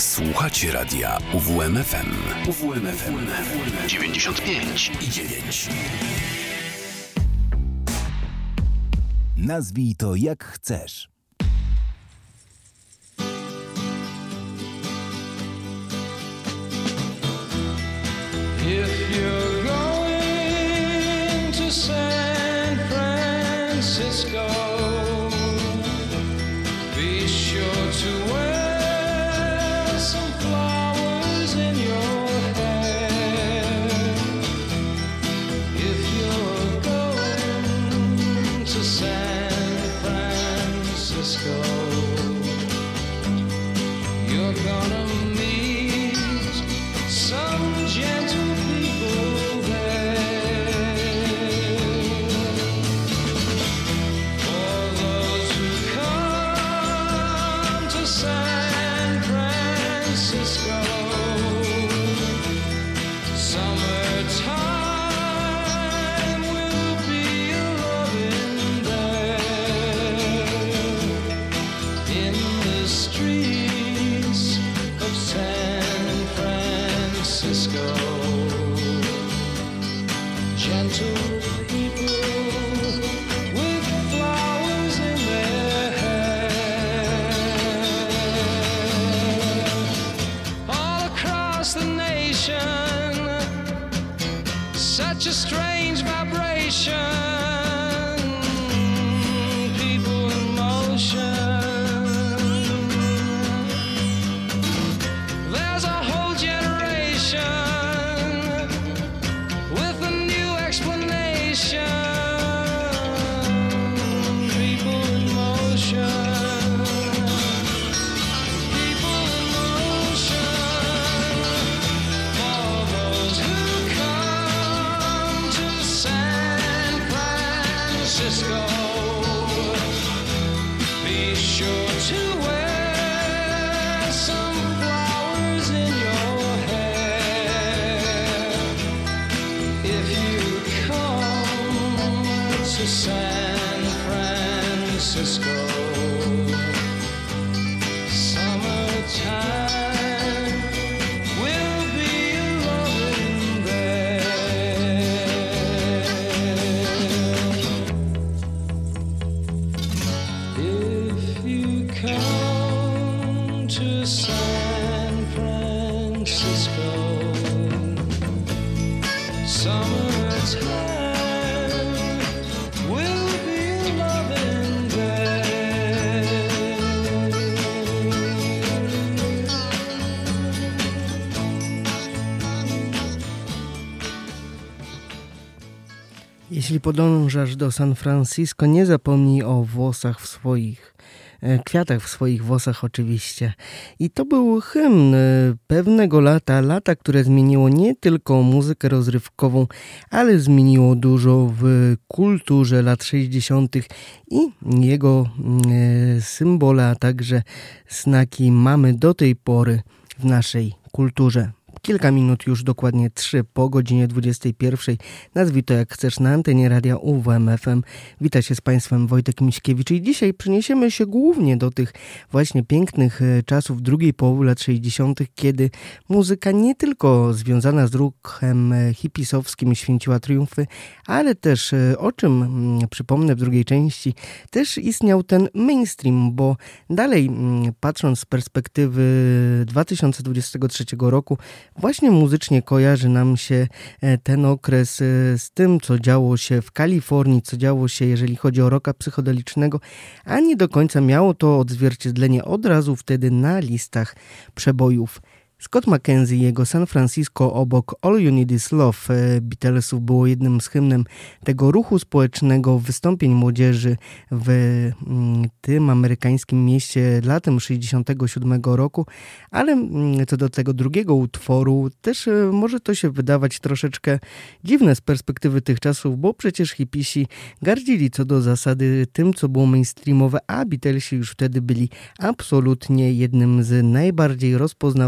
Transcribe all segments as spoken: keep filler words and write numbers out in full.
Słuchacie radia U W M F M. U W M F M dziewięćdziesiąt pięć i dziewięć. Nazwij to jak chcesz. If you're going to San Francisco, be sure to wear some flowers in your hair. If you're going to San Francisco, you're gonna meet some gentle people there. For those who come to San Francisco, summertime will be a-loving there. In the streets of San Francisco, gentle people with flowers in their hair. All across the nation, such a strange vibration, people in motion. There's a whole generation with a new explanation. People in motion. People in motion. For those who come to San Francisco, be sure to wear some flowers in your hair. If you come to San Francisco, summertime will be a-loving there. If you come to San Francisco, summertime will be a-loving there. Jeśli podążasz do San Francisco, nie zapomnij o włosach w swoich, e, kwiatach w swoich włosach oczywiście. I to był hymn e, pewnego lata, lata, które zmieniło nie tylko muzykę rozrywkową, ale zmieniło dużo w kulturze lat sześćdziesiątych i jego e, symbole, a także znaki mamy do tej pory w naszej kulturze. Kilka minut już, dokładnie trzy po godzinie dwudziestej pierwszej. Nazwij to jak chcesz na antenie radia U W M F M. Wita się z Państwem Wojtek Miśkiewicz i dzisiaj przeniesiemy się głównie do tych właśnie pięknych czasów drugiej połowy lat sześćdziesiątych, kiedy muzyka nie tylko związana z ruchem hipisowskim święciła triumfy, ale też, o czym przypomnę w drugiej części, też istniał ten mainstream, bo dalej patrząc z perspektywy dwa tysiące dwudziestego trzeciego roku, właśnie muzycznie kojarzy nam się ten okres z tym, co działo się w Kalifornii, co działo się, jeżeli chodzi o rocka psychodelicznego, a nie do końca miało to odzwierciedlenie od razu wtedy na listach przebojów. Scott McKenzie i jego San Francisco obok All You Need Is Love Beatlesów było jednym z hymnem tego ruchu społecznego, wystąpień młodzieży w tym amerykańskim mieście latem sześćdziesiątego siódmego roku, ale co do tego drugiego utworu też może to się wydawać troszeczkę dziwne z perspektywy tych czasów, bo przecież hipisi gardzili co do zasady tym, co było mainstreamowe, a Beatlesi już wtedy byli absolutnie jednym z najbardziej rozpoznawalnych,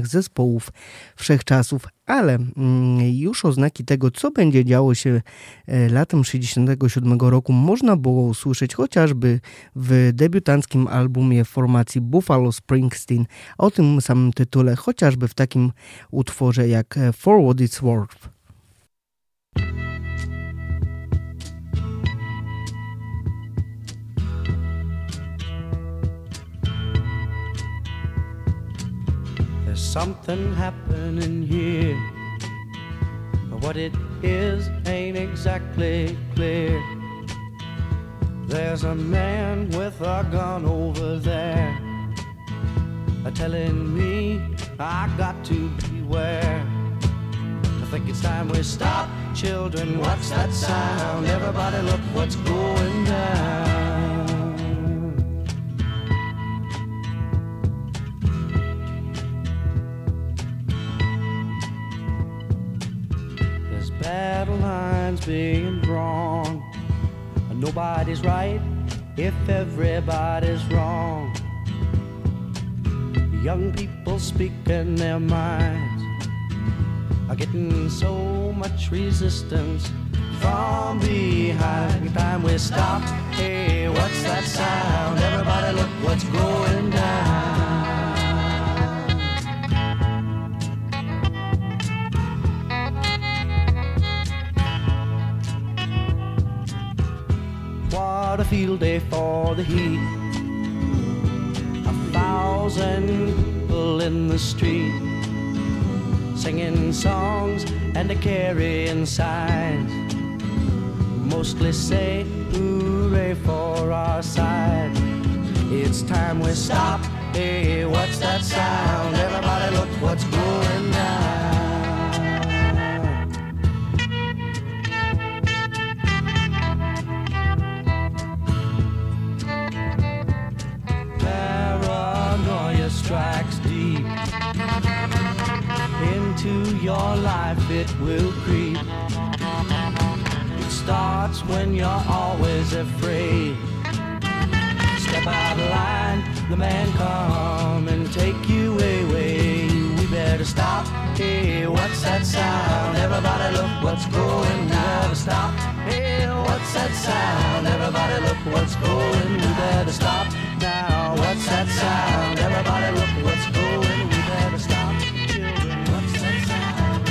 zespołów wszechczasów, ale już oznaki tego, co będzie działo się latem sześćdziesiątego siódmego roku, można było usłyszeć chociażby w debiutanckim albumie formacji Buffalo Springsteen o tym samym tytule, chociażby w takim utworze jak For What It's Worth. There's something happening here. What it is ain't exactly clear. There's a man with a gun over there, telling me I got to beware. I think it's time we stop. Children, what's that sound? Everybody look what's going down. Battle lines being drawn. Nobody's right if everybody's wrong. Young people speaking their minds are getting so much resistance from behind. Time we stop. Hey, what's that sound? Everybody look what's going down. What a field day for the heat. A thousand people in the street, singing songs and carrying signs, mostly say hooray for our side. It's time we stop. Hey, what's that sound? Everybody look what's going down. Strikes deep into your life, it will creep. It starts when you're always afraid. Step out of line, the man come and take you away. We better stop. Hey, what's that sound? Everybody look what's going down. We better stop. Hey, what's that sound? Everybody look what's going. We better stop now. What's that sound? Everybody look what's going. We better stop. Children, what's that sound?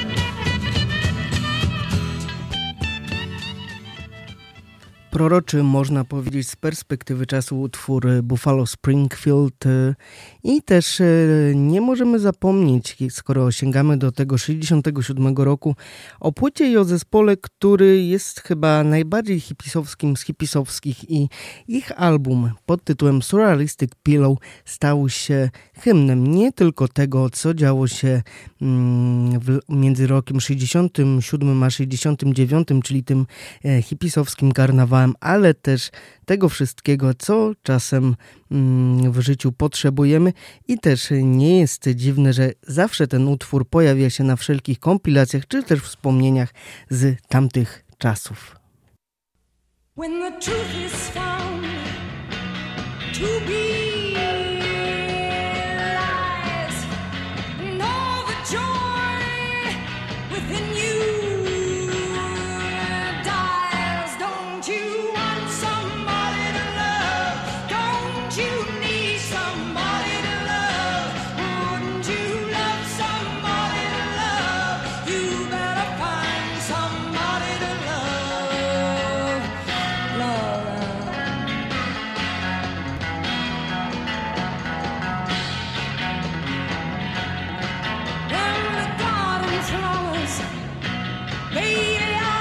Proroczy, można powiedzieć, z perspektywy czasu utwór Buffalo Springfield i też nie możemy zapomnieć, skoro sięgamy do tego sześćdziesiątego siódmego roku, o płycie i o zespole, który jest chyba najbardziej hipisowskim z hipisowskich i ich album pod tytułem Surrealistic Pillow stał się hymnem nie tylko tego, co działo się w, między rokiem sześćdziesiątym siódmym a sześćdziesiątym dziewiątym, czyli tym hipisowskim karnawałem, ale też tego wszystkiego, co czasem w życiu potrzebujemy i też nie jest dziwne, że zawsze ten utwór pojawia się na wszelkich kompilacjach, czy też wspomnieniach z tamtych czasów. When the truth is found to be lies, and all the joy within you dies. Don't you want somebody to love? Don't you need somebody to love? Wouldn't you love somebody to love? You better find somebody to love. Love. When the garden flowers, they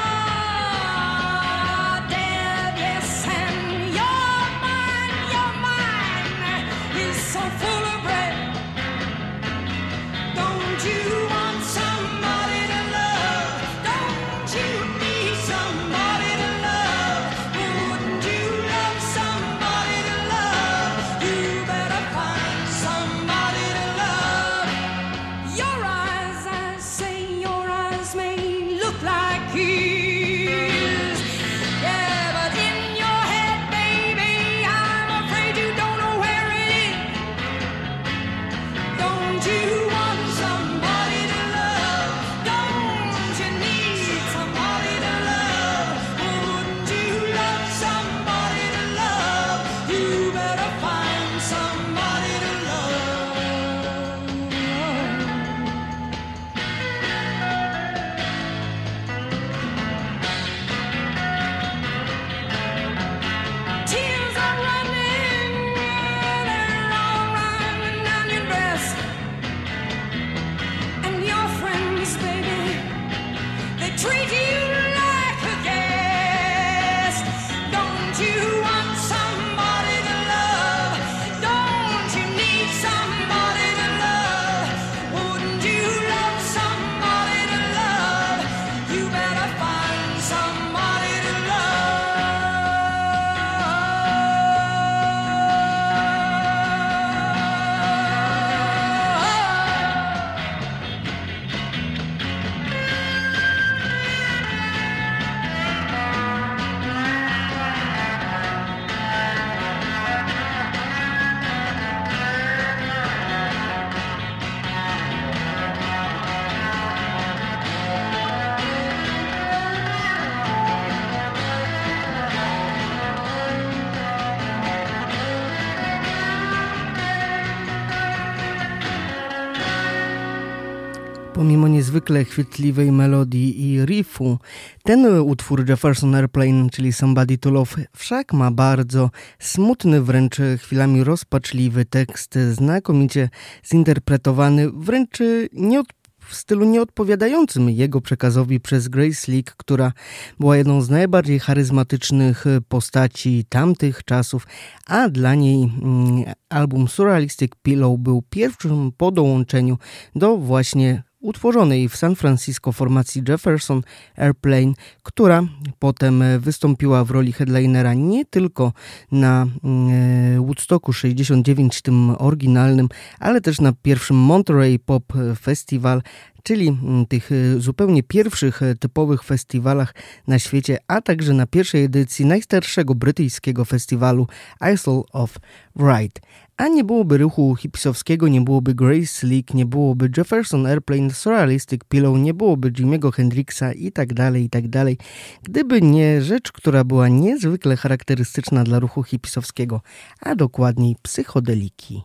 are dead, yes, and your mind, your mind is so full of bread. Don't you want somebody to love? Don't you need somebody to love? Wouldn't you love somebody to love? You better find somebody to love. Your eyes, I say, your eyes may look like his. Yeah, but in your head, baby, I'm afraid you don't know where it is. Pomimo niezwykle chwytliwej melodii i riffu, ten utwór Jefferson Airplane, czyli Somebody to Love, wszak ma bardzo smutny, wręcz chwilami rozpaczliwy tekst, znakomicie zinterpretowany, wręcz nie od w stylu nieodpowiadającym jego przekazowi przez Grace Slick, która była jedną z najbardziej charyzmatycznych postaci tamtych czasów, a dla niej mm, album Surrealistic Pillow był pierwszym po dołączeniu do właśnie utworzonej w San Francisco formacji Jefferson Airplane, która potem wystąpiła w roli headlinera nie tylko na e, Woodstocku sześćdziesiąt dziewięć, tym oryginalnym, ale też na pierwszym Monterey Pop Festival, czyli tych zupełnie pierwszych typowych festiwalach na świecie, a także na pierwszej edycji najstarszego brytyjskiego festiwalu Isle of Wight. A nie byłoby ruchu hipisowskiego, nie byłoby Grace Slick, nie byłoby Jefferson Airplane, Surrealistic Pillow, nie byłoby Jimiego Hendrixa i tak dalej, i tak dalej, gdyby nie rzecz, która była niezwykle charakterystyczna dla ruchu hipisowskiego, a dokładniej psychodeliki.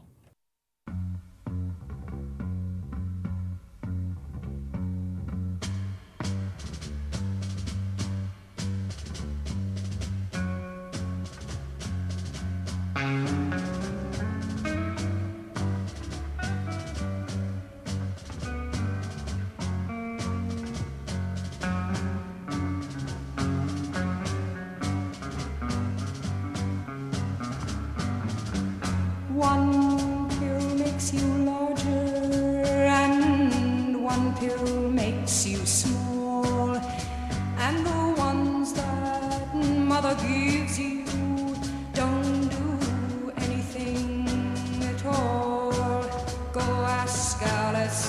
One pill makes you larger and one pill makes you small, and the ones that mother gives you don't do anything at all. Go ask Alice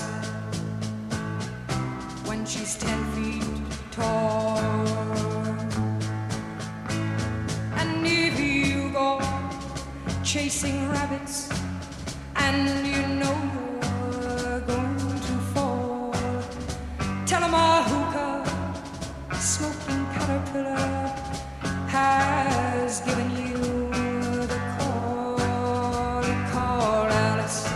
when she's ten feet tall. And if you go chasing rabbits and you know you're going to fall, tell 'em a hookah smoking caterpillar has given you the call. Call Alice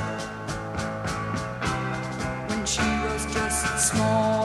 when she was just small.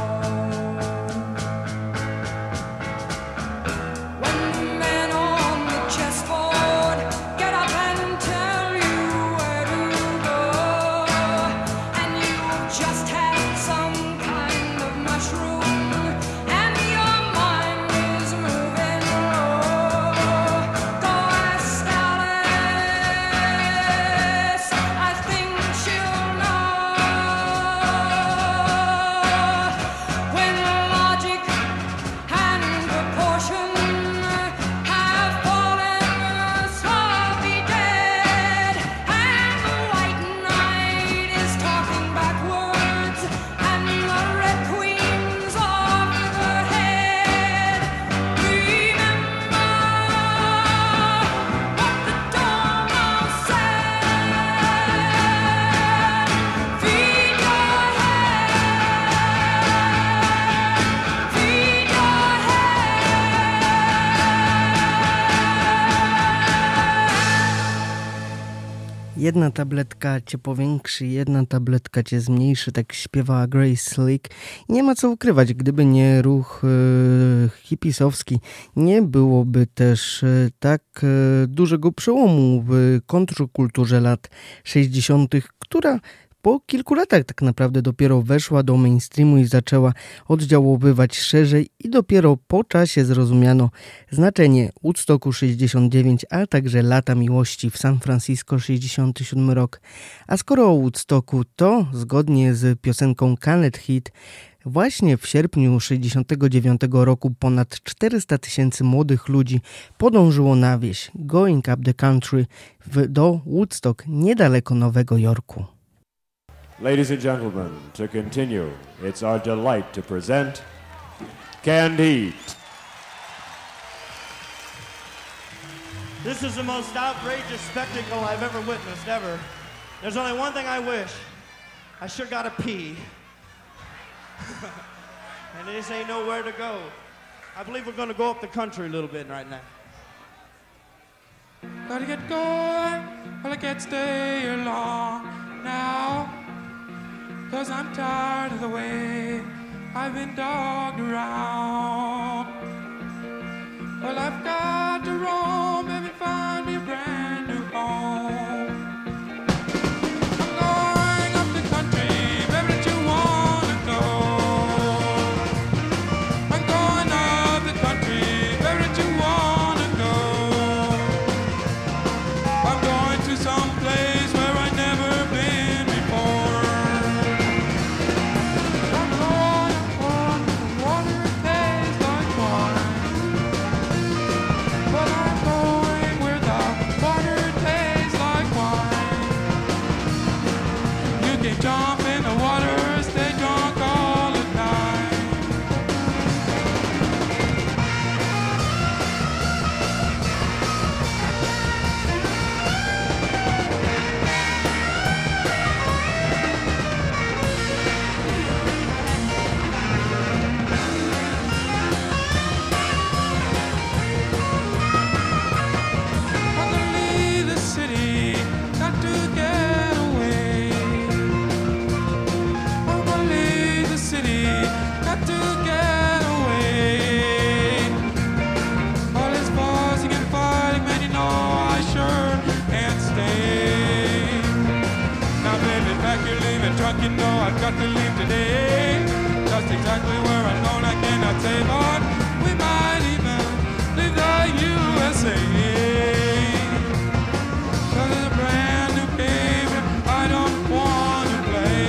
Jedna tabletka cię powiększy, jedna tabletka cię zmniejszy, tak śpiewała Grace Slick. Nie ma co ukrywać, gdyby nie ruch e, hipisowski, nie byłoby też e, tak e, dużego przełomu w kontrkulturze lat sześćdziesiątych, która po kilku latach tak naprawdę dopiero weszła do mainstreamu i zaczęła oddziaływać szerzej i dopiero po czasie zrozumiano znaczenie Woodstocku sześćdziesiąt dziewięć, a także lata miłości w San Francisco sześćdziesiąty siódmy rok. A skoro o Woodstocku, to zgodnie z piosenką Can't Hit właśnie w sierpniu sześćdziesiątego dziewiątego roku ponad czterysta tysięcy młodych ludzi podążyło na wieś Going Up the Country w, do Woodstock niedaleko Nowego Jorku. Ladies and gentlemen, to continue, it's our delight to present Canned Heat. This is the most outrageous spectacle I've ever witnessed, ever. There's only one thing I wish. I sure gotta pee. And this ain't nowhere to go. I believe we're gonna go up the country a little bit right now. Gotta get going, well I can't stay here long now. 'Cause 'cause I'm tired of the way I've been dogged around. Well, I've got to roam and find me a brand new home. I'm going up the country, baby, that you wanna go. I'm going up the country, baby, that you wanna go. I'm going to some place where I've never been before. I'm going on the water it tastes like wine. But I'm going where the water tastes like wine. You can jump in the water, stay drunk all the time. I'm gonna leave the city, got to get away. I'm gonna leave the city, got to get away. All this fussing and fighting, man, you know I sure can't stay. Now, baby, pack your leaving truck, you know I've got to leave today. Just exactly where I'm going, I cannot say, but we might even leave the U S A. 'Cause it's a brand new game I don't want to play.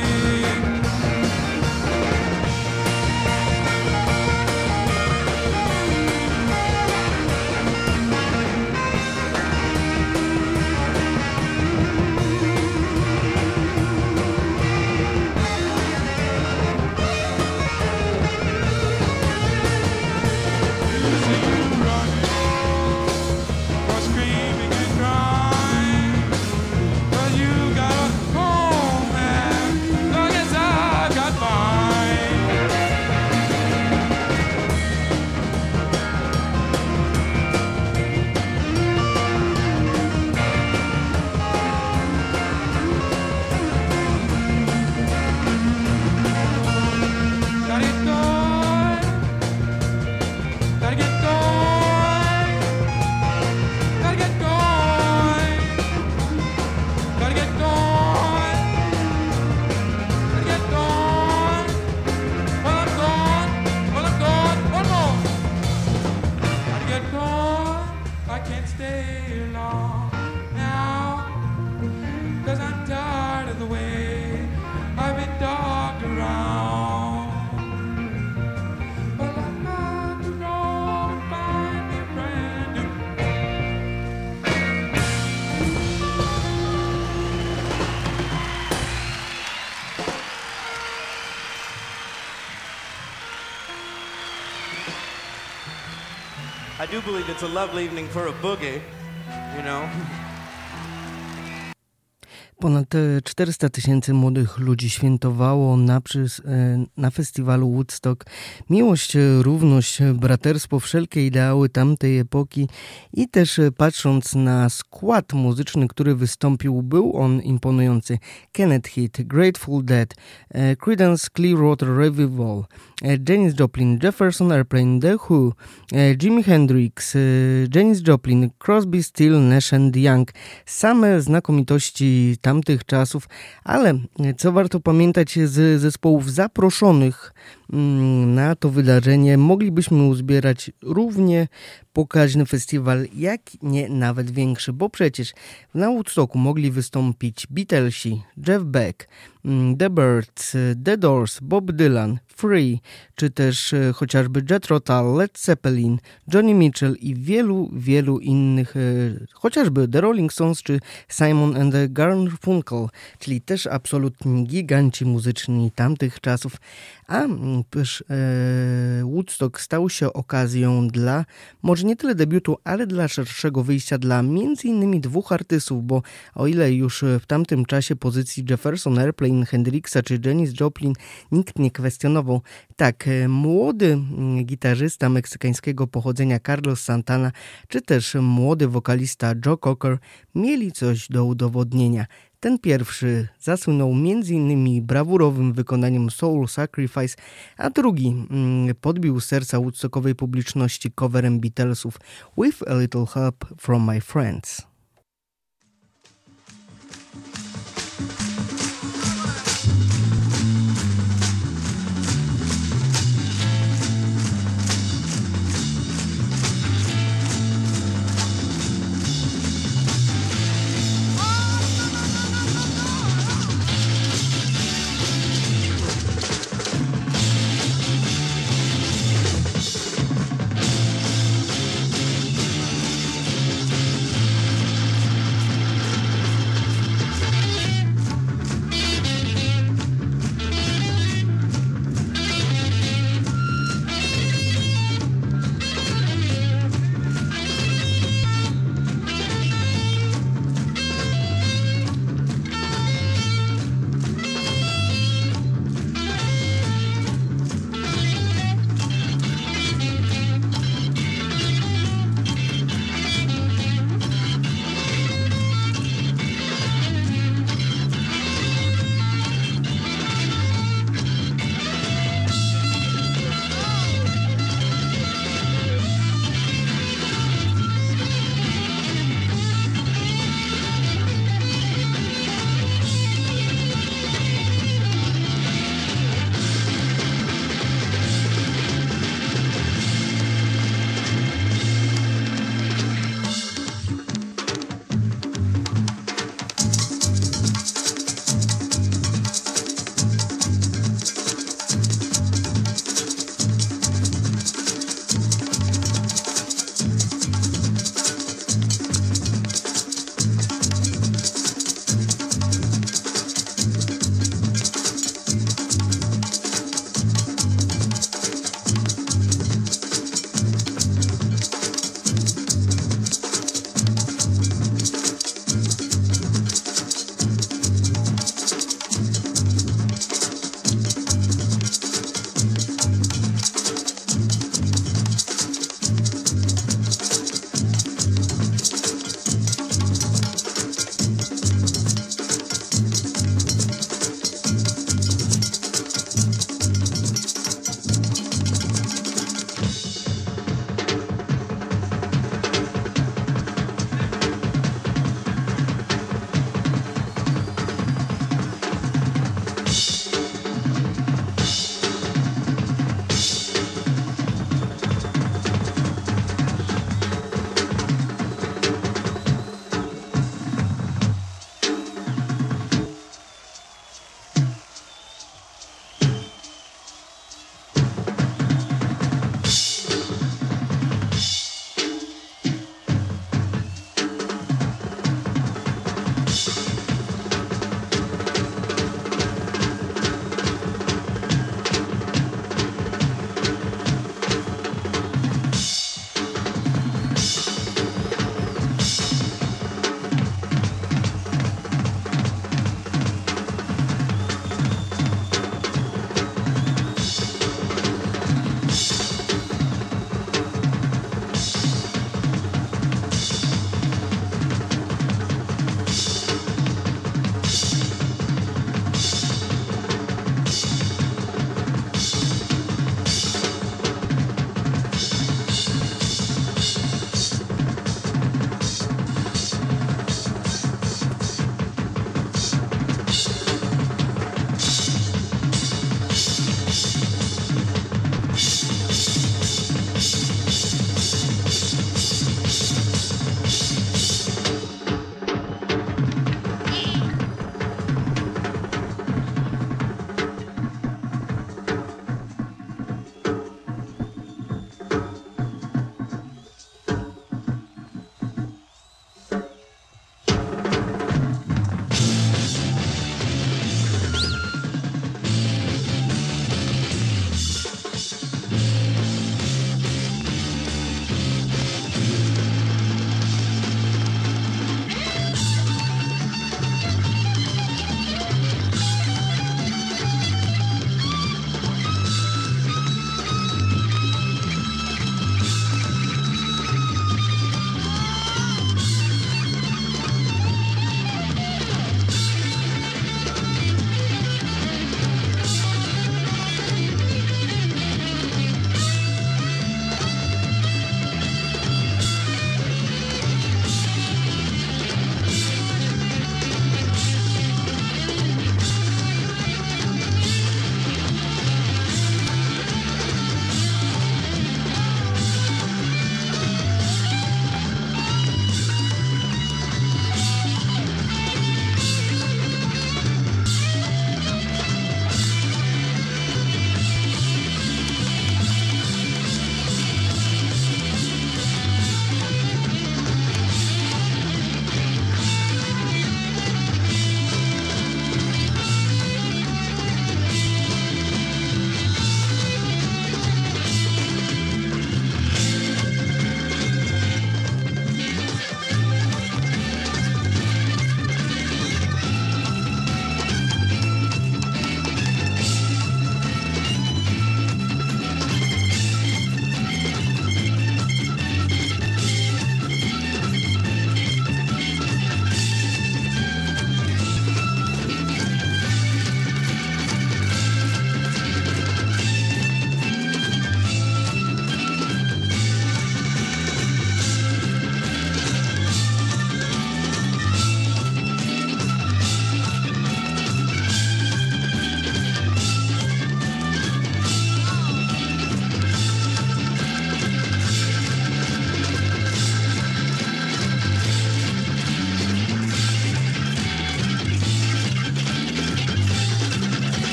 You see you running, or screaming and crying, but you got a home, man. Long as I've got mine. Gotta get going. Gotta get going. Gotta get going. Gotta get going. Gotta get going. Well, I'm gone. Well, I'm gone. One more. Gotta get going. I can't stay here long now. 'Cause I'm tired of the way I've been dogged around. Well, I've got to roam and find me a brand new. I do believe it's a lovely evening for a boogie, you know. Ponad e, czterysta tysięcy młodych ludzi świętowało na, przys- e, na festiwalu Woodstock miłość, e, równość, e, braterstwo, wszelkie ideały tamtej epoki i też e, patrząc na skład muzyczny, który wystąpił, był on imponujący. Kenneth Heat, Grateful Dead, e, Creedence Clearwater Revival, e, Janis Joplin, Jefferson Airplane, The Who, e, Jimi Hendrix, e, Janis Joplin, Crosby, Still, Nash and Young. Same znakomitości tamtych czasów, ale co warto pamiętać z zespołów zaproszonych na to wydarzenie, moglibyśmy uzbierać równie pokaźny festiwal, jak nie nawet większy, bo przecież na Woodstocku mogli wystąpić Beatlesi, Jeff Beck, The Byrds, The Doors, Bob Dylan, Free, czy też chociażby Jethro Tull, Led Zeppelin, Johnny Mitchell i wielu, wielu innych, chociażby The Rolling Stones czy Simon and the Garfunkel, czyli też absolutni giganci muzyczni tamtych czasów. A też e, Woodstock stał się okazją dla, może nie tyle debiutu, ale dla szerszego wyjścia dla między innymi dwóch artystów, bo o ile już w tamtym czasie pozycji Jefferson Airplane, Hendrixa czy Janis Joplin nikt nie kwestionował, tak młody gitarzysta meksykańskiego pochodzenia Carlos Santana, czy też młody wokalista Joe Cocker mieli coś do udowodnienia. Ten pierwszy zasłynął między innymi brawurowym wykonaniem Soul Sacrifice, a drugi mm, podbił serca woodstockowej publiczności coverem Beatlesów With a Little Help from My Friends. Thank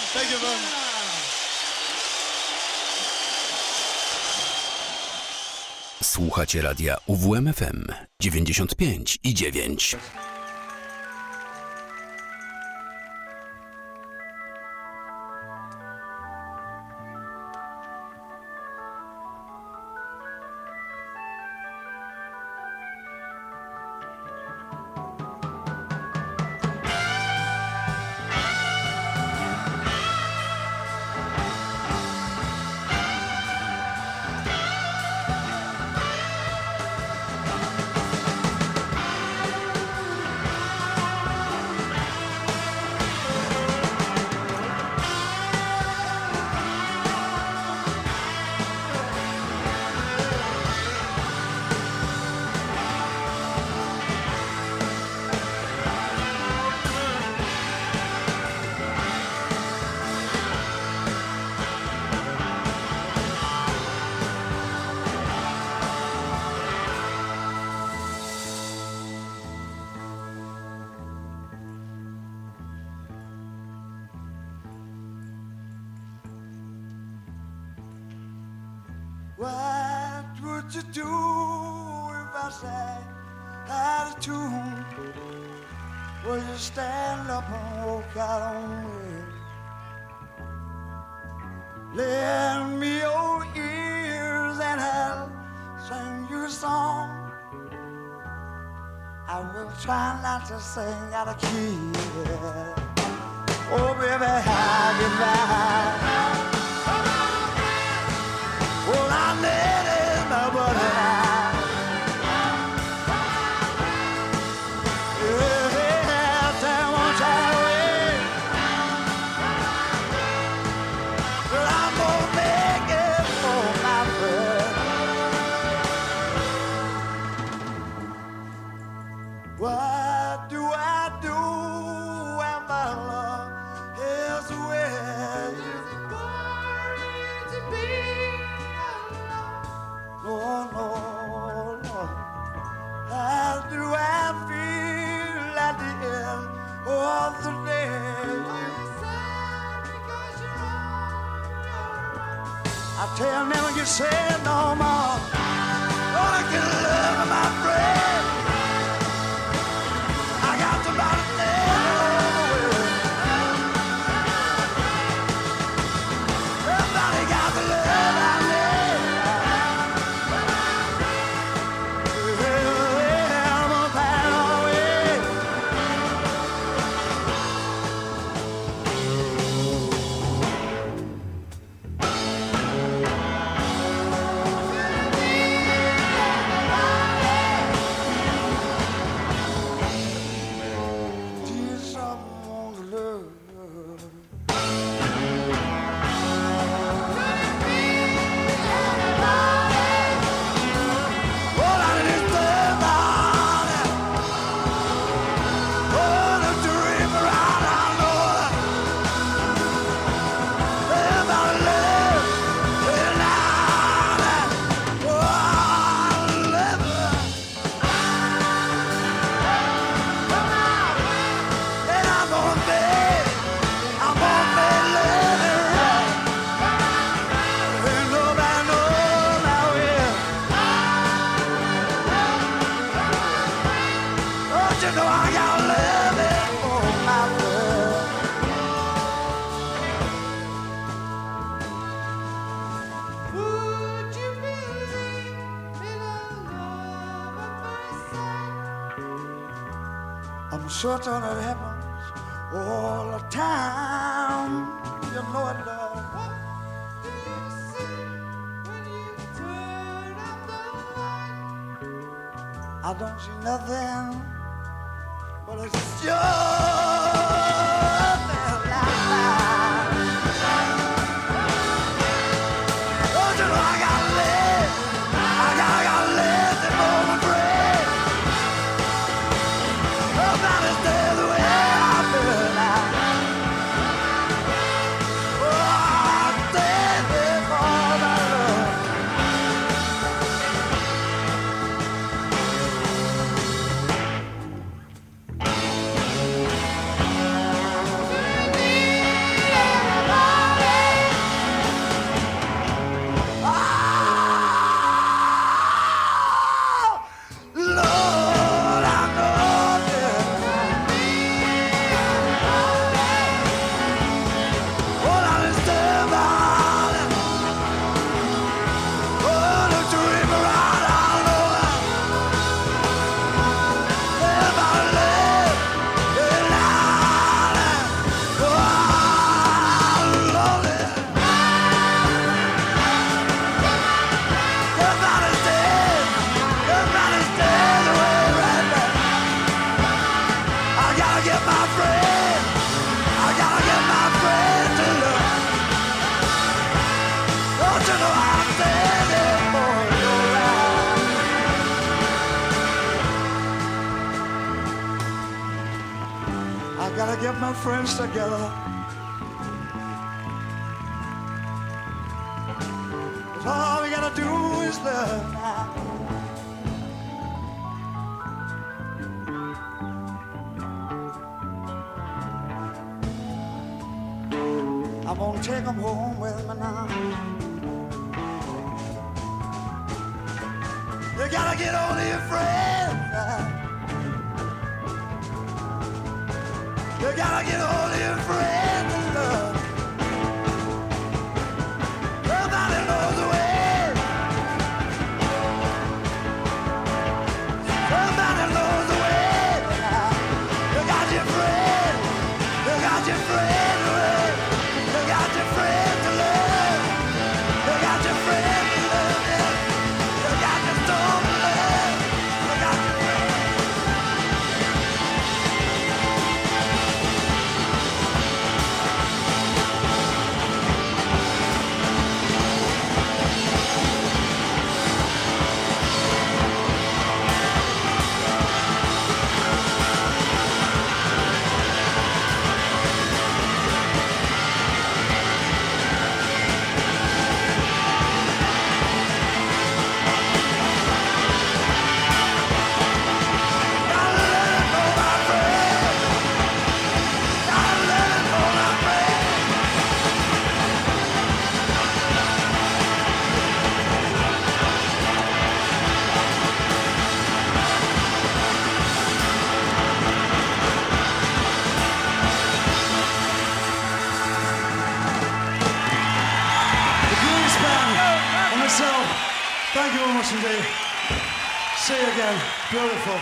Thank you very much. Słuchacie radia U W M F M dziewięćdziesiąt pięć i dziewięć. What would you do if I sang out of tune? Would you stand up and walk out on me? Lend me your ears and I'll sing you a song. I will try not to sing out of key. Oh, baby, how you lie? Well, I need it, nobody. Yeah, tell one time away. But I'm gonna make it for my friend. What do I do when my love is with you? Oh, no, no. How do I feel at the end of the day? I tell never you say no more. Oh, I can love my friend. I got to buy the Everybody got the love I need. I'm certain it happens all the time. You know it does. What do you see when you turn up the light? I don't see nothing, but it's just that light. Don't you know I gotta live? I gotta, I gotta live the moment free. Nobody stay the way I feel now. Oh, I stay there for my love. friends together. All we gotta do is love now. I'm gonna take them home with me now. You gotta get on your friends. You gotta get on your friends and love. Nobody knows the way. Somebody knows the way. You got your friend. You got your friend to love. You got your friend to love. You got your friend to love. Yeah. You got your storm to love. You got your friend. Thank you very much indeed. See you again. Beautiful.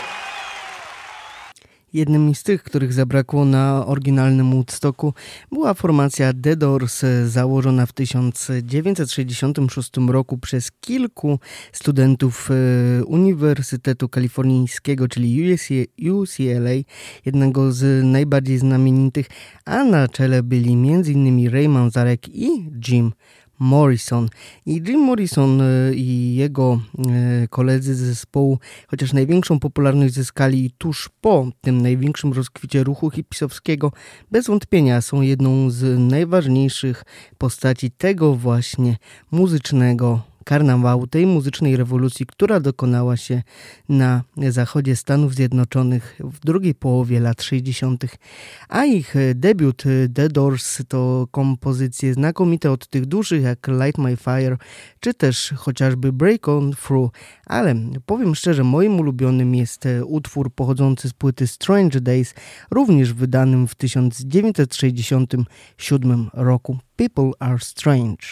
Jednym z tych, których zabrakło na oryginalnym Woodstocku, była formacja The Doors, założona w tysiąc dziewięćset sześćdziesiątym szóstym roku przez kilku studentów Uniwersytetu Kalifornijskiego, czyli U C L A, jednego z najbardziej znamienitych, a na czele byli m in Ray Manzarek i Jim Morrison. I Jim Morrison i jego koledzy z zespołu, chociaż największą popularność zyskali tuż po tym największym rozkwicie ruchu hipisowskiego, bez wątpienia są jedną z najważniejszych postaci tego właśnie muzycznego karnawału, tej muzycznej rewolucji, która dokonała się na zachodzie Stanów Zjednoczonych w drugiej połowie lat sześćdziesiątych. A ich debiut The Doors to kompozycje znakomite od tych dużych jak Light My Fire, czy też chociażby Break On Through, ale powiem szczerze, moim ulubionym jest utwór pochodzący z płyty Strange Days, również wydanym w tysiąc dziewięćset sześćdziesiątym siódmym roku. People Are Strange.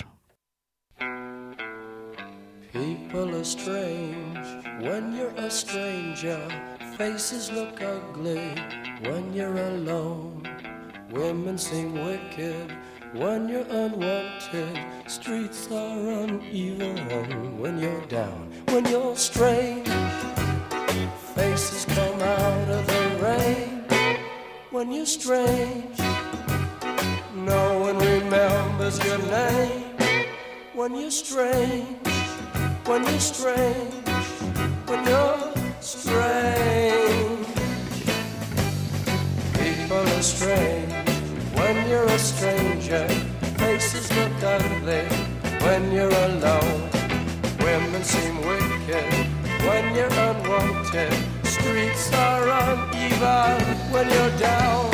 People are strange when you're a stranger. Faces look ugly when you're alone. Women seem wicked when you're unwanted. Streets are uneven when you're down. When you're strange, faces come out of the rain. When you're strange, no one remembers your name. When you're strange, when you're strange, when you're strange. People are strange when you're a stranger. Faces look ugly when you're alone. Women seem wicked when you're unwanted. Streets are uneven when you're down.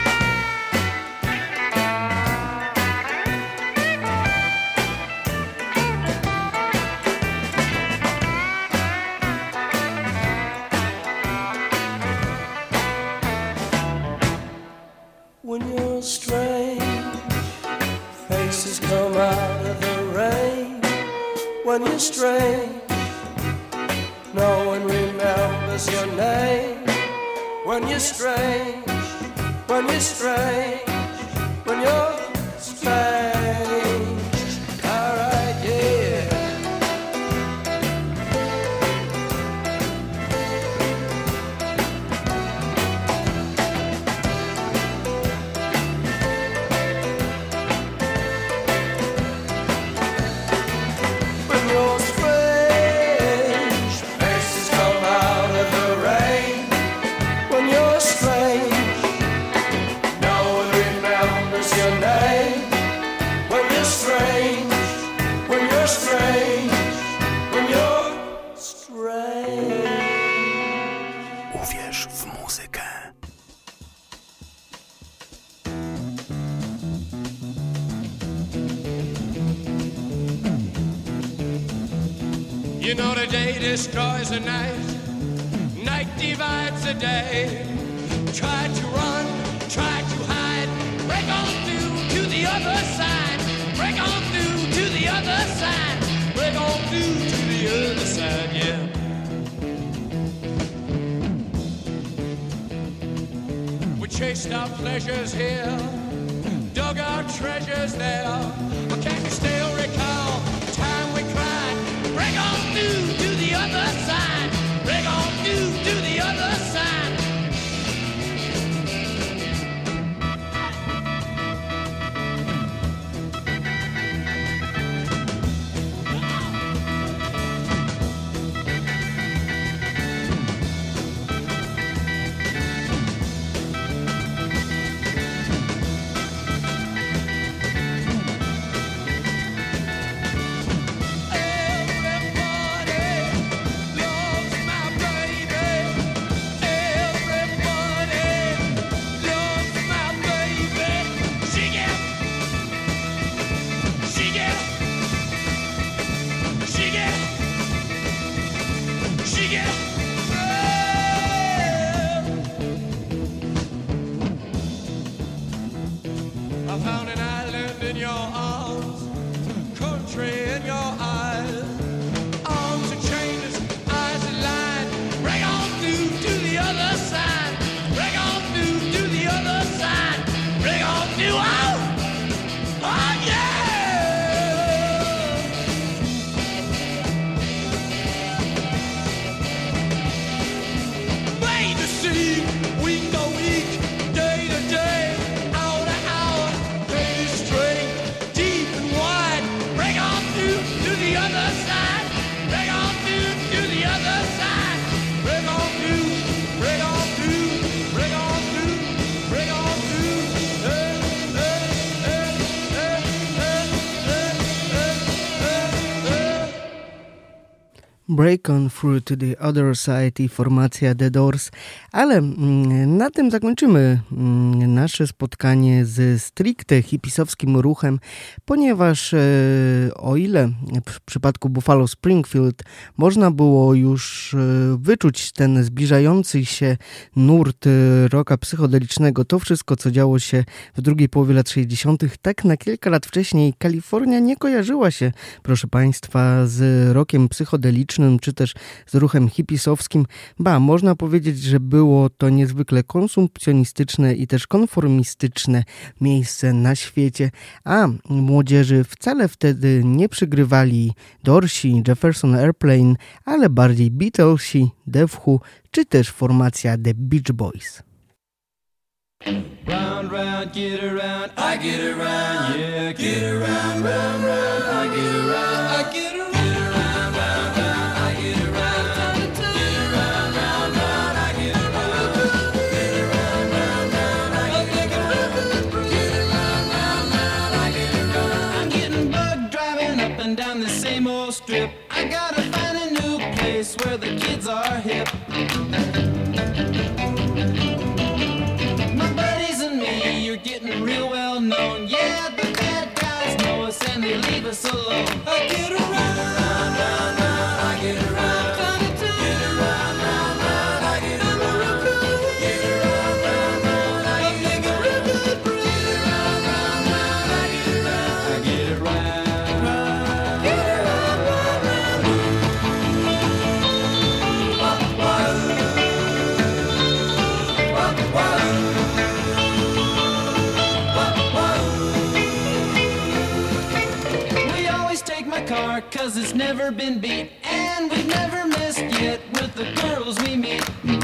When you're strange, faces come out of the rain. When you're strange, no one remembers your name. When you're strange, when you're strange, when you're strange. All right, yeah. No one You know the day destroys the night, night divides the day. Try to run, try to hide, break on through to the other side, break on through to the other side, break on through to the other side, yeah. We chased our pleasures here, dug our treasures there. But can you still recall the time we cried? Break on through to the other side, break on through to the other side. I found an island in your arms, country in your eyes. Arms are chained, eyes are lined. Break on through to the other side. Break on through to the other side. Break on through. Oh, oh yeah! Made to see, week to week, day to day. Break on Through to the Other Side i formacja The Doors, ale mm, na tym zakończymy mm, nasze spotkanie z stricte hipisowskim ruchem, ponieważ e, o ile w przypadku Buffalo Springfield można było już e, wyczuć ten zbliżający się nurt e, rocka psychodelicznego, to wszystko co działo się w drugiej połowie lat sześćdziesiątych, tak na kilka lat wcześniej Kalifornia nie kojarzyła się, proszę Państwa, z rockiem psychodelicznym, czy też z ruchem hipisowskim. Ba, można powiedzieć, że było to niezwykle konsumpcjonistyczne i też konformistyczne miejsce na świecie, a młodzieży wcale wtedy nie przygrywali Dorsi, Jefferson Airplane, ale bardziej Beatlesi, The Who, czy też formacja The Beach Boys. Round, round, get around, I get around, yeah, get around, round, round, I get around, I get around. Down the same old strip, I gotta find a new place where the kids are hip. My buddies and me, you're getting real well known. Yeah, the bad guys know us and they leave us alone. I get around, round, round, round, I get around. Get around, round, round, I get around. Get around, round, round, I get around. Get around, round, round, I get around. I get around. Car, cause it's never been beat, and we've never missed yet with the girls we meet.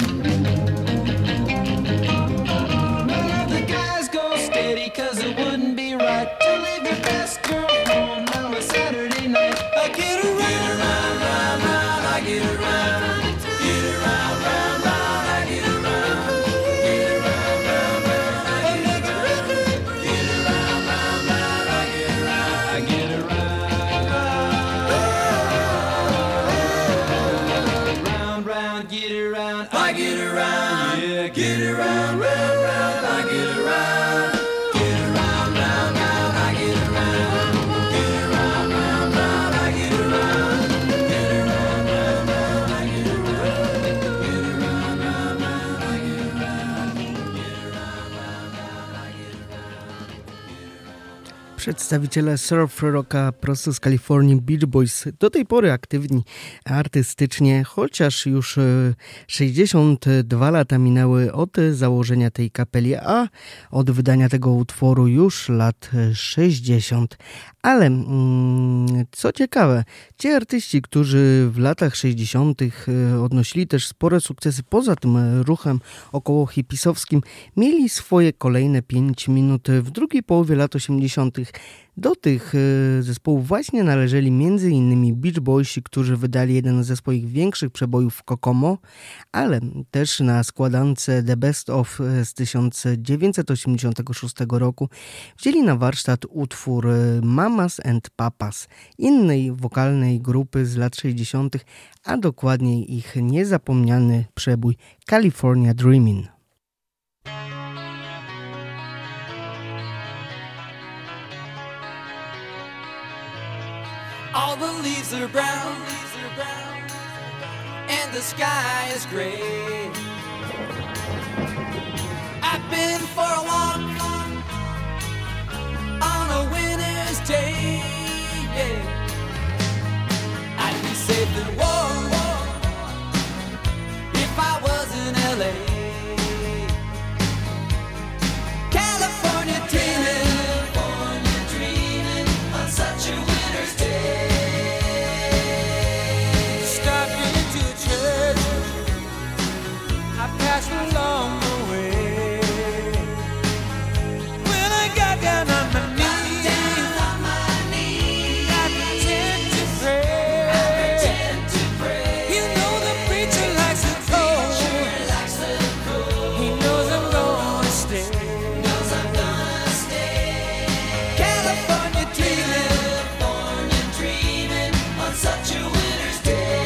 None of the guys go steady, cause it wouldn't be right to leave your best girl home on a Saturday night. I get around, get around, round, round, I get around. Get around, round, round, I get around. Get around, round, round, I get around. Get around, round, round, I get around. I get around. Get around, I get around, yeah, get around, round, round, I get around. Get around, round, round, I get around. Przedstawiciele surf rocka prosto z Kalifornii, Beach Boys, do tej pory aktywni artystycznie, chociaż już sześćdziesiąt dwa lata minęły od założenia tej kapeli, a od wydania tego utworu już lat sześćdziesiąt. Ale co ciekawe, ci artyści, którzy w latach sześćdziesiątych odnosili też spore sukcesy poza tym ruchem około hipisowskim, mieli swoje kolejne pięć minut w drugiej połowie lat osiemdziesiątych. Do tych zespołów właśnie należeli między innymi Beach Boysi, którzy wydali jeden ze swoich większych przebojów w Kokomo, ale też na składance The Best Of z tysiąc dziewięćset osiemdziesiątego szóstego roku wzięli na warsztat utwór Mamas and Papas, innej wokalnej grupy z lat sześćdziesiątych, a dokładniej ich niezapomniany przebój California Dreamin'. All the leaves are brown, and the sky is gray. I've been for a walk on a winter's day. I'd be safe and warm if I was in L A. California dreaming, California dreaming on such a winter's day. Passed along the way. When I got down on my knees, down on my knees, I pretend to pray. I pretend to pray. You know the preacher likes the cold. Preacher likes the cold. He knows I'm gonna stay. Knows I'm gonna stay. California dreaming, California dreaming on such a winter's day.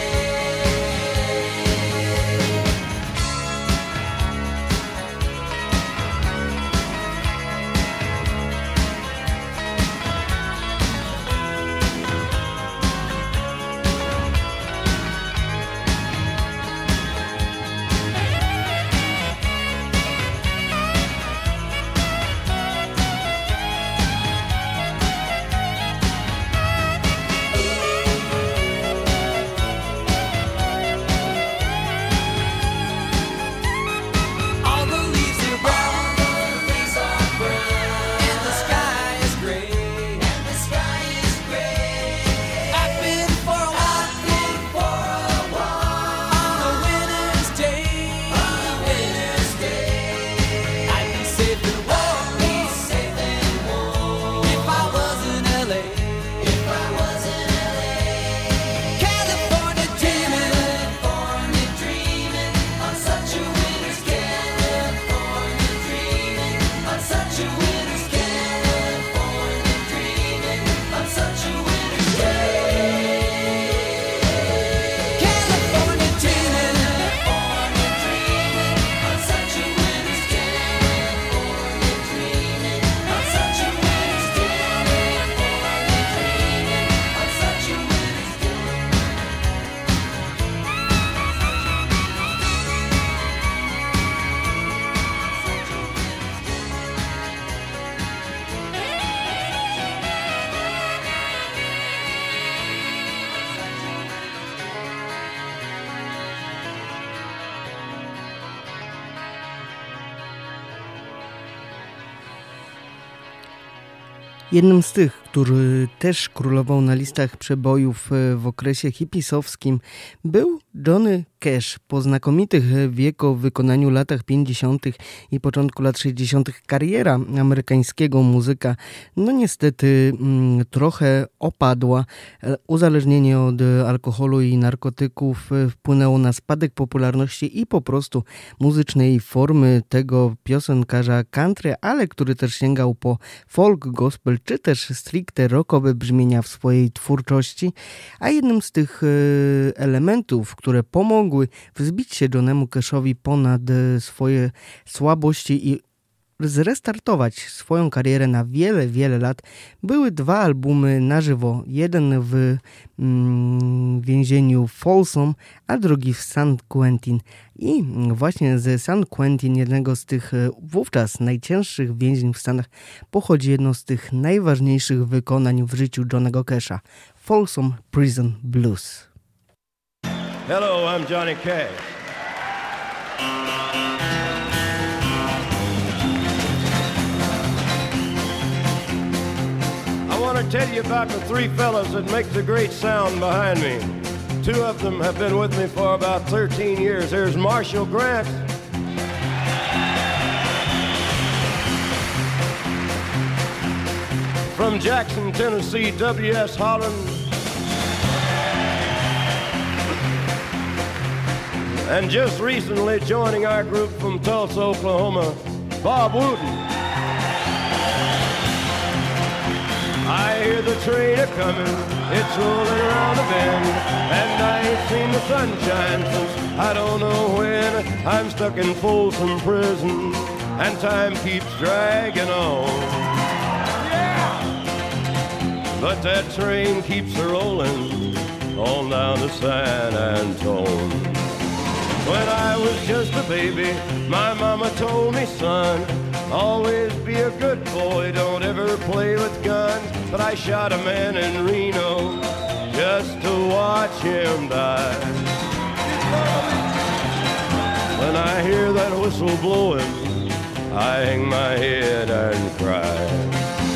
Jednym z tych, który też królował na listach przebojów w okresie hipisowskim, był Johnny Cash. Po znakomitych w jego wykonaniu latach pięćdziesiątych i początku lat sześćdziesiątych kariera amerykańskiego muzyka no niestety mm, trochę opadła. Uzależnienie od alkoholu i narkotyków wpłynęło na spadek popularności i po prostu muzycznej formy tego piosenkarza country, ale który też sięgał po folk, gospel czy też stricte rockowe brzmienia w swojej twórczości, a jednym z tych elementów, które pomogły wzbić się Johnemu Cashowi ponad swoje słabości i zrestartować swoją karierę na wiele, wiele lat, były dwa albumy na żywo. Jeden w mm, więzieniu Folsom, a drugi w San Quentin. I właśnie z San Quentin, jednego z tych wówczas najcięższych więzień w Stanach, pochodzi jedno z tych najważniejszych wykonań w życiu Johnnego Casha. Folsom Prison Blues. Hello, I'm Johnny Cash. I want to tell you about the three fellas that make the great sound behind me. Two of them have been with me for about thirteen years. Here's Marshall Grant. From Jackson, Tennessee, W S Holland. And just recently joining our group from Tulsa, Oklahoma, Bob Wooten. I hear the train a-comin', it's rolling around the bend, and I ain't seen the sunshine since I don't know when. I'm stuck in Folsom Prison, and time keeps dragging on. Yeah! But that train keeps a-rolling on down to San Antone. When I was just a baby, my mama told me, son, always be a good boy, don't ever play with guns. But I shot a man in Reno just to watch him die. When I hear that whistle blowing, I hang my head and cry.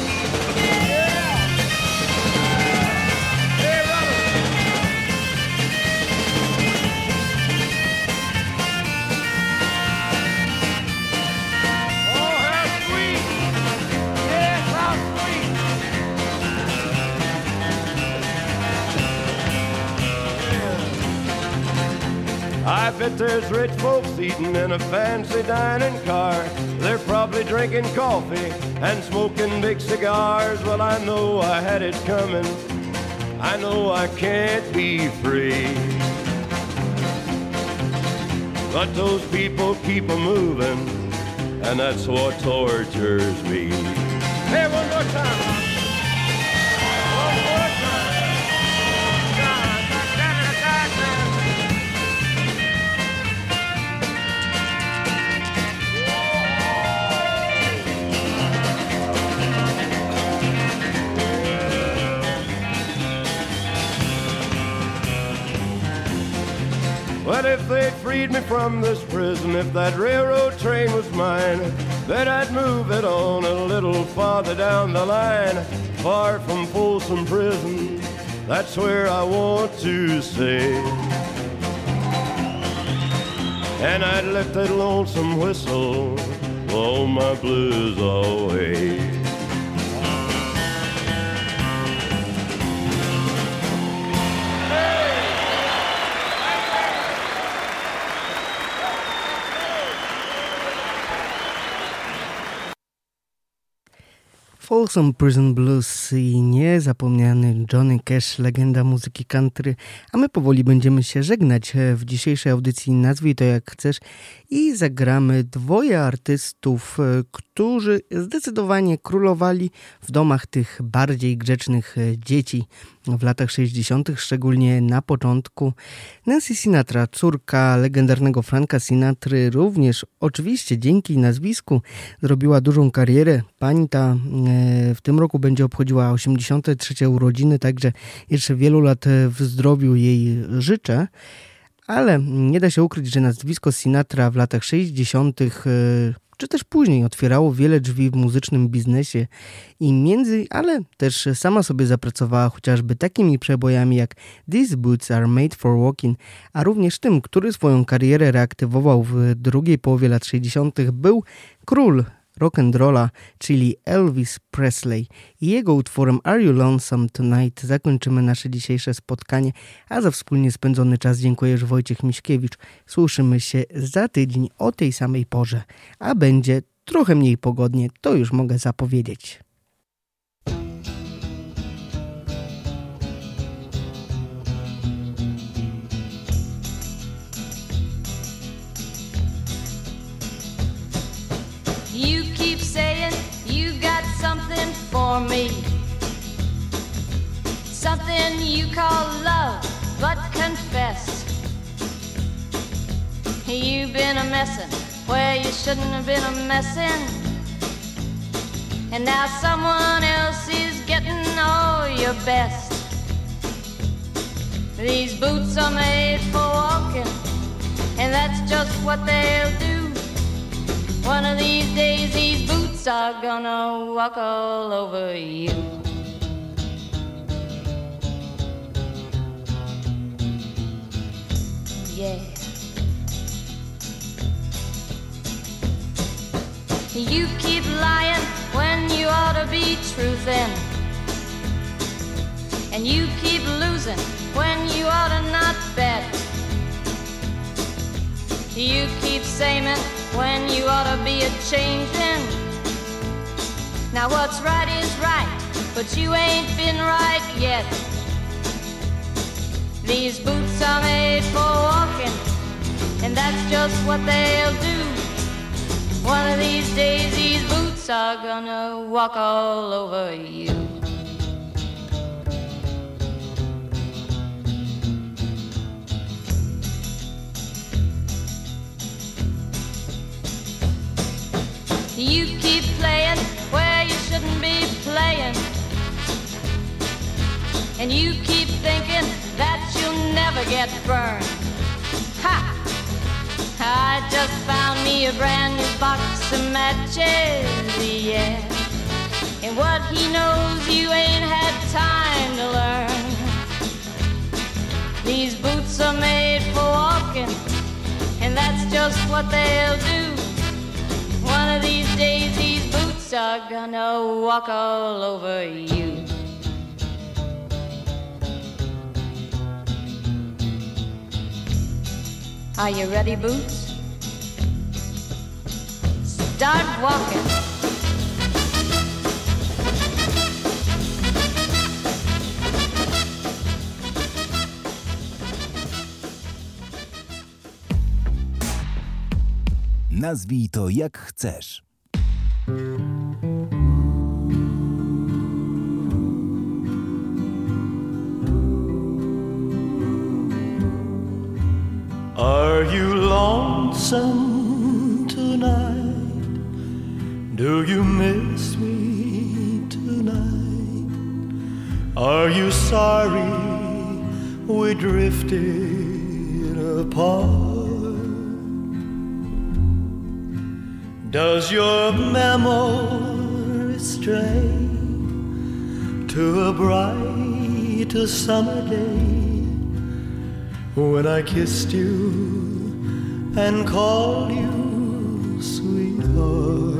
I bet there's rich folks eating in a fancy dining car. They're probably drinking coffee and smoking big cigars. Well, I know I had it coming. I know I can't be free. But those people keep a moving, and that's what tortures me. Hey, one more time. One more time. Well, if they'd freed me from this prison, if that railroad train was mine, then I'd move it on a little farther down the line, far from Folsom Prison. That's where I want to stay. And I'd let that lonesome whistle blow my blues away. Folsom Prison Blues i niezapomniany Johnny Cash, legenda muzyki country, a my powoli będziemy się żegnać w dzisiejszej audycji Nazwij to jak chcesz i zagramy dwoje artystów, którzy zdecydowanie królowali w domach tych bardziej grzecznych dzieci w latach sześćdziesiątych, szczególnie na początku. Nancy Sinatra, córka legendarnego Franka Sinatry, również oczywiście dzięki nazwisku zrobiła dużą karierę. Pani ta w tym roku będzie obchodziła osiemdziesiąte trzecie urodziny, także jeszcze wielu lat w zdrowiu jej życzę. Ale nie da się ukryć, że nazwisko Sinatra w latach sześćdziesiątych czy też później otwierało wiele drzwi w muzycznym biznesie i między, ale też sama sobie zapracowała chociażby takimi przebojami jak These Boots Are Made for Walking, a również tym, który swoją karierę reaktywował w drugiej połowie lat sześćdziesiątych, był król rock'n'rolla, czyli Elvis Presley. I jego utworem Are You Lonesome Tonight zakończymy nasze dzisiejsze spotkanie, a za wspólnie spędzony czas dziękuję już Wojciech Miśkiewicz. Słyszymy się za tydzień o tej samej porze, a będzie trochę mniej pogodnie, to już mogę zapowiedzieć. You keep something you call love, but confess you've been a messin' where you shouldn't have been a messin', and now someone else is getting all your best. These boots are made for walking, and that's just what they'll do. One of these days these boots are gonna walk all over you. Yeah. You keep lying when you ought to be truthin', and you keep losing when you ought to not bet. You keep saying when you ought to be a-changin'. Now what's right is right, but you ain't been right yet. These boots are made for walking, and that's just what they'll do. One of these days these boots are gonna walk all over you. You keep playing where you shouldn't be playing, and you keep thinking that you'll never get burned. Ha! I just found me a brand new box of matches, yeah. And what he knows you ain't had time to learn. These boots are made for walking, and that's just what they'll do. One of these days these boots are gonna walk all over you. Are you ready, Boots? Start walking. Nazwij to jak chcesz. Are you lonesome tonight? Do you miss me tonight? Are you sorry we drifted apart? Does your memory stray to a bright summer day when I kissed you and called you sweetheart?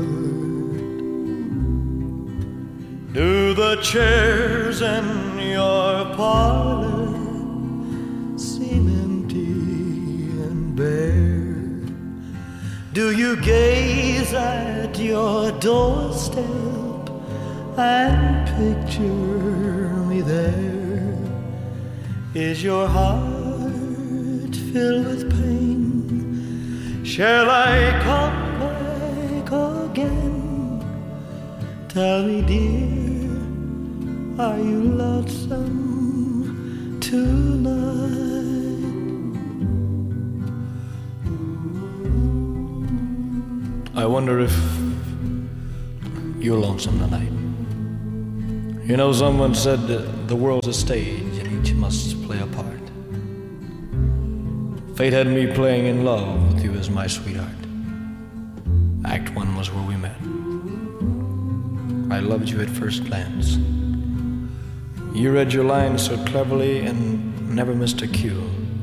Do the chairs in your parlor seem empty and bare? Do you gaze at your doorstep and picture me there? Is your heart filled with pain? Shall I come back again? Tell me, dear, are you lonesome tonight? I wonder if you're lonesome tonight. You know, someone said that the world's a stage and each must play a part. Fate had me playing in love with you as my sweetheart. Act one was where we met. I loved you at first glance. You read your lines so cleverly and never missed a cue.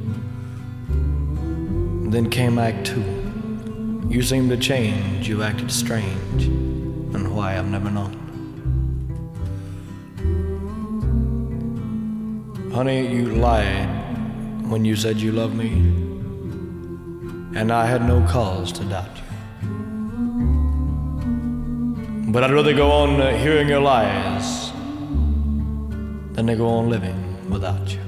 Then came Act two. You seemed to change, you acted strange, and why I've never known. Honey, you lied when you said you loved me, and I had no cause to doubt you. But I'd rather go on uh, hearing your lies than to go on living without you.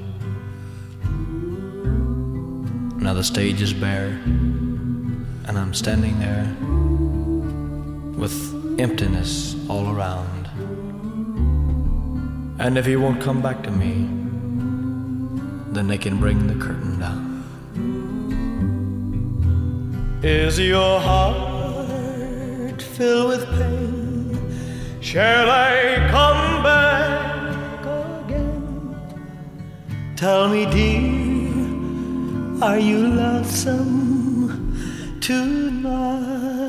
Now the stage is bare, and I'm standing there with emptiness all around. And if he won't come back to me, then they can bring the curtain down. Is your heart filled with pain? Shall I come back again? Tell me, dear, are you lonesome tonight?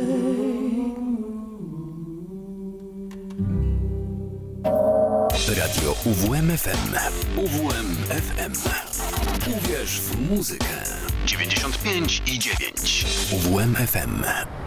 Radio U W M F M. U W M F M. Uwierz w muzykę. dziewięćdziesiąt pięć i dziewięć. U W M F M.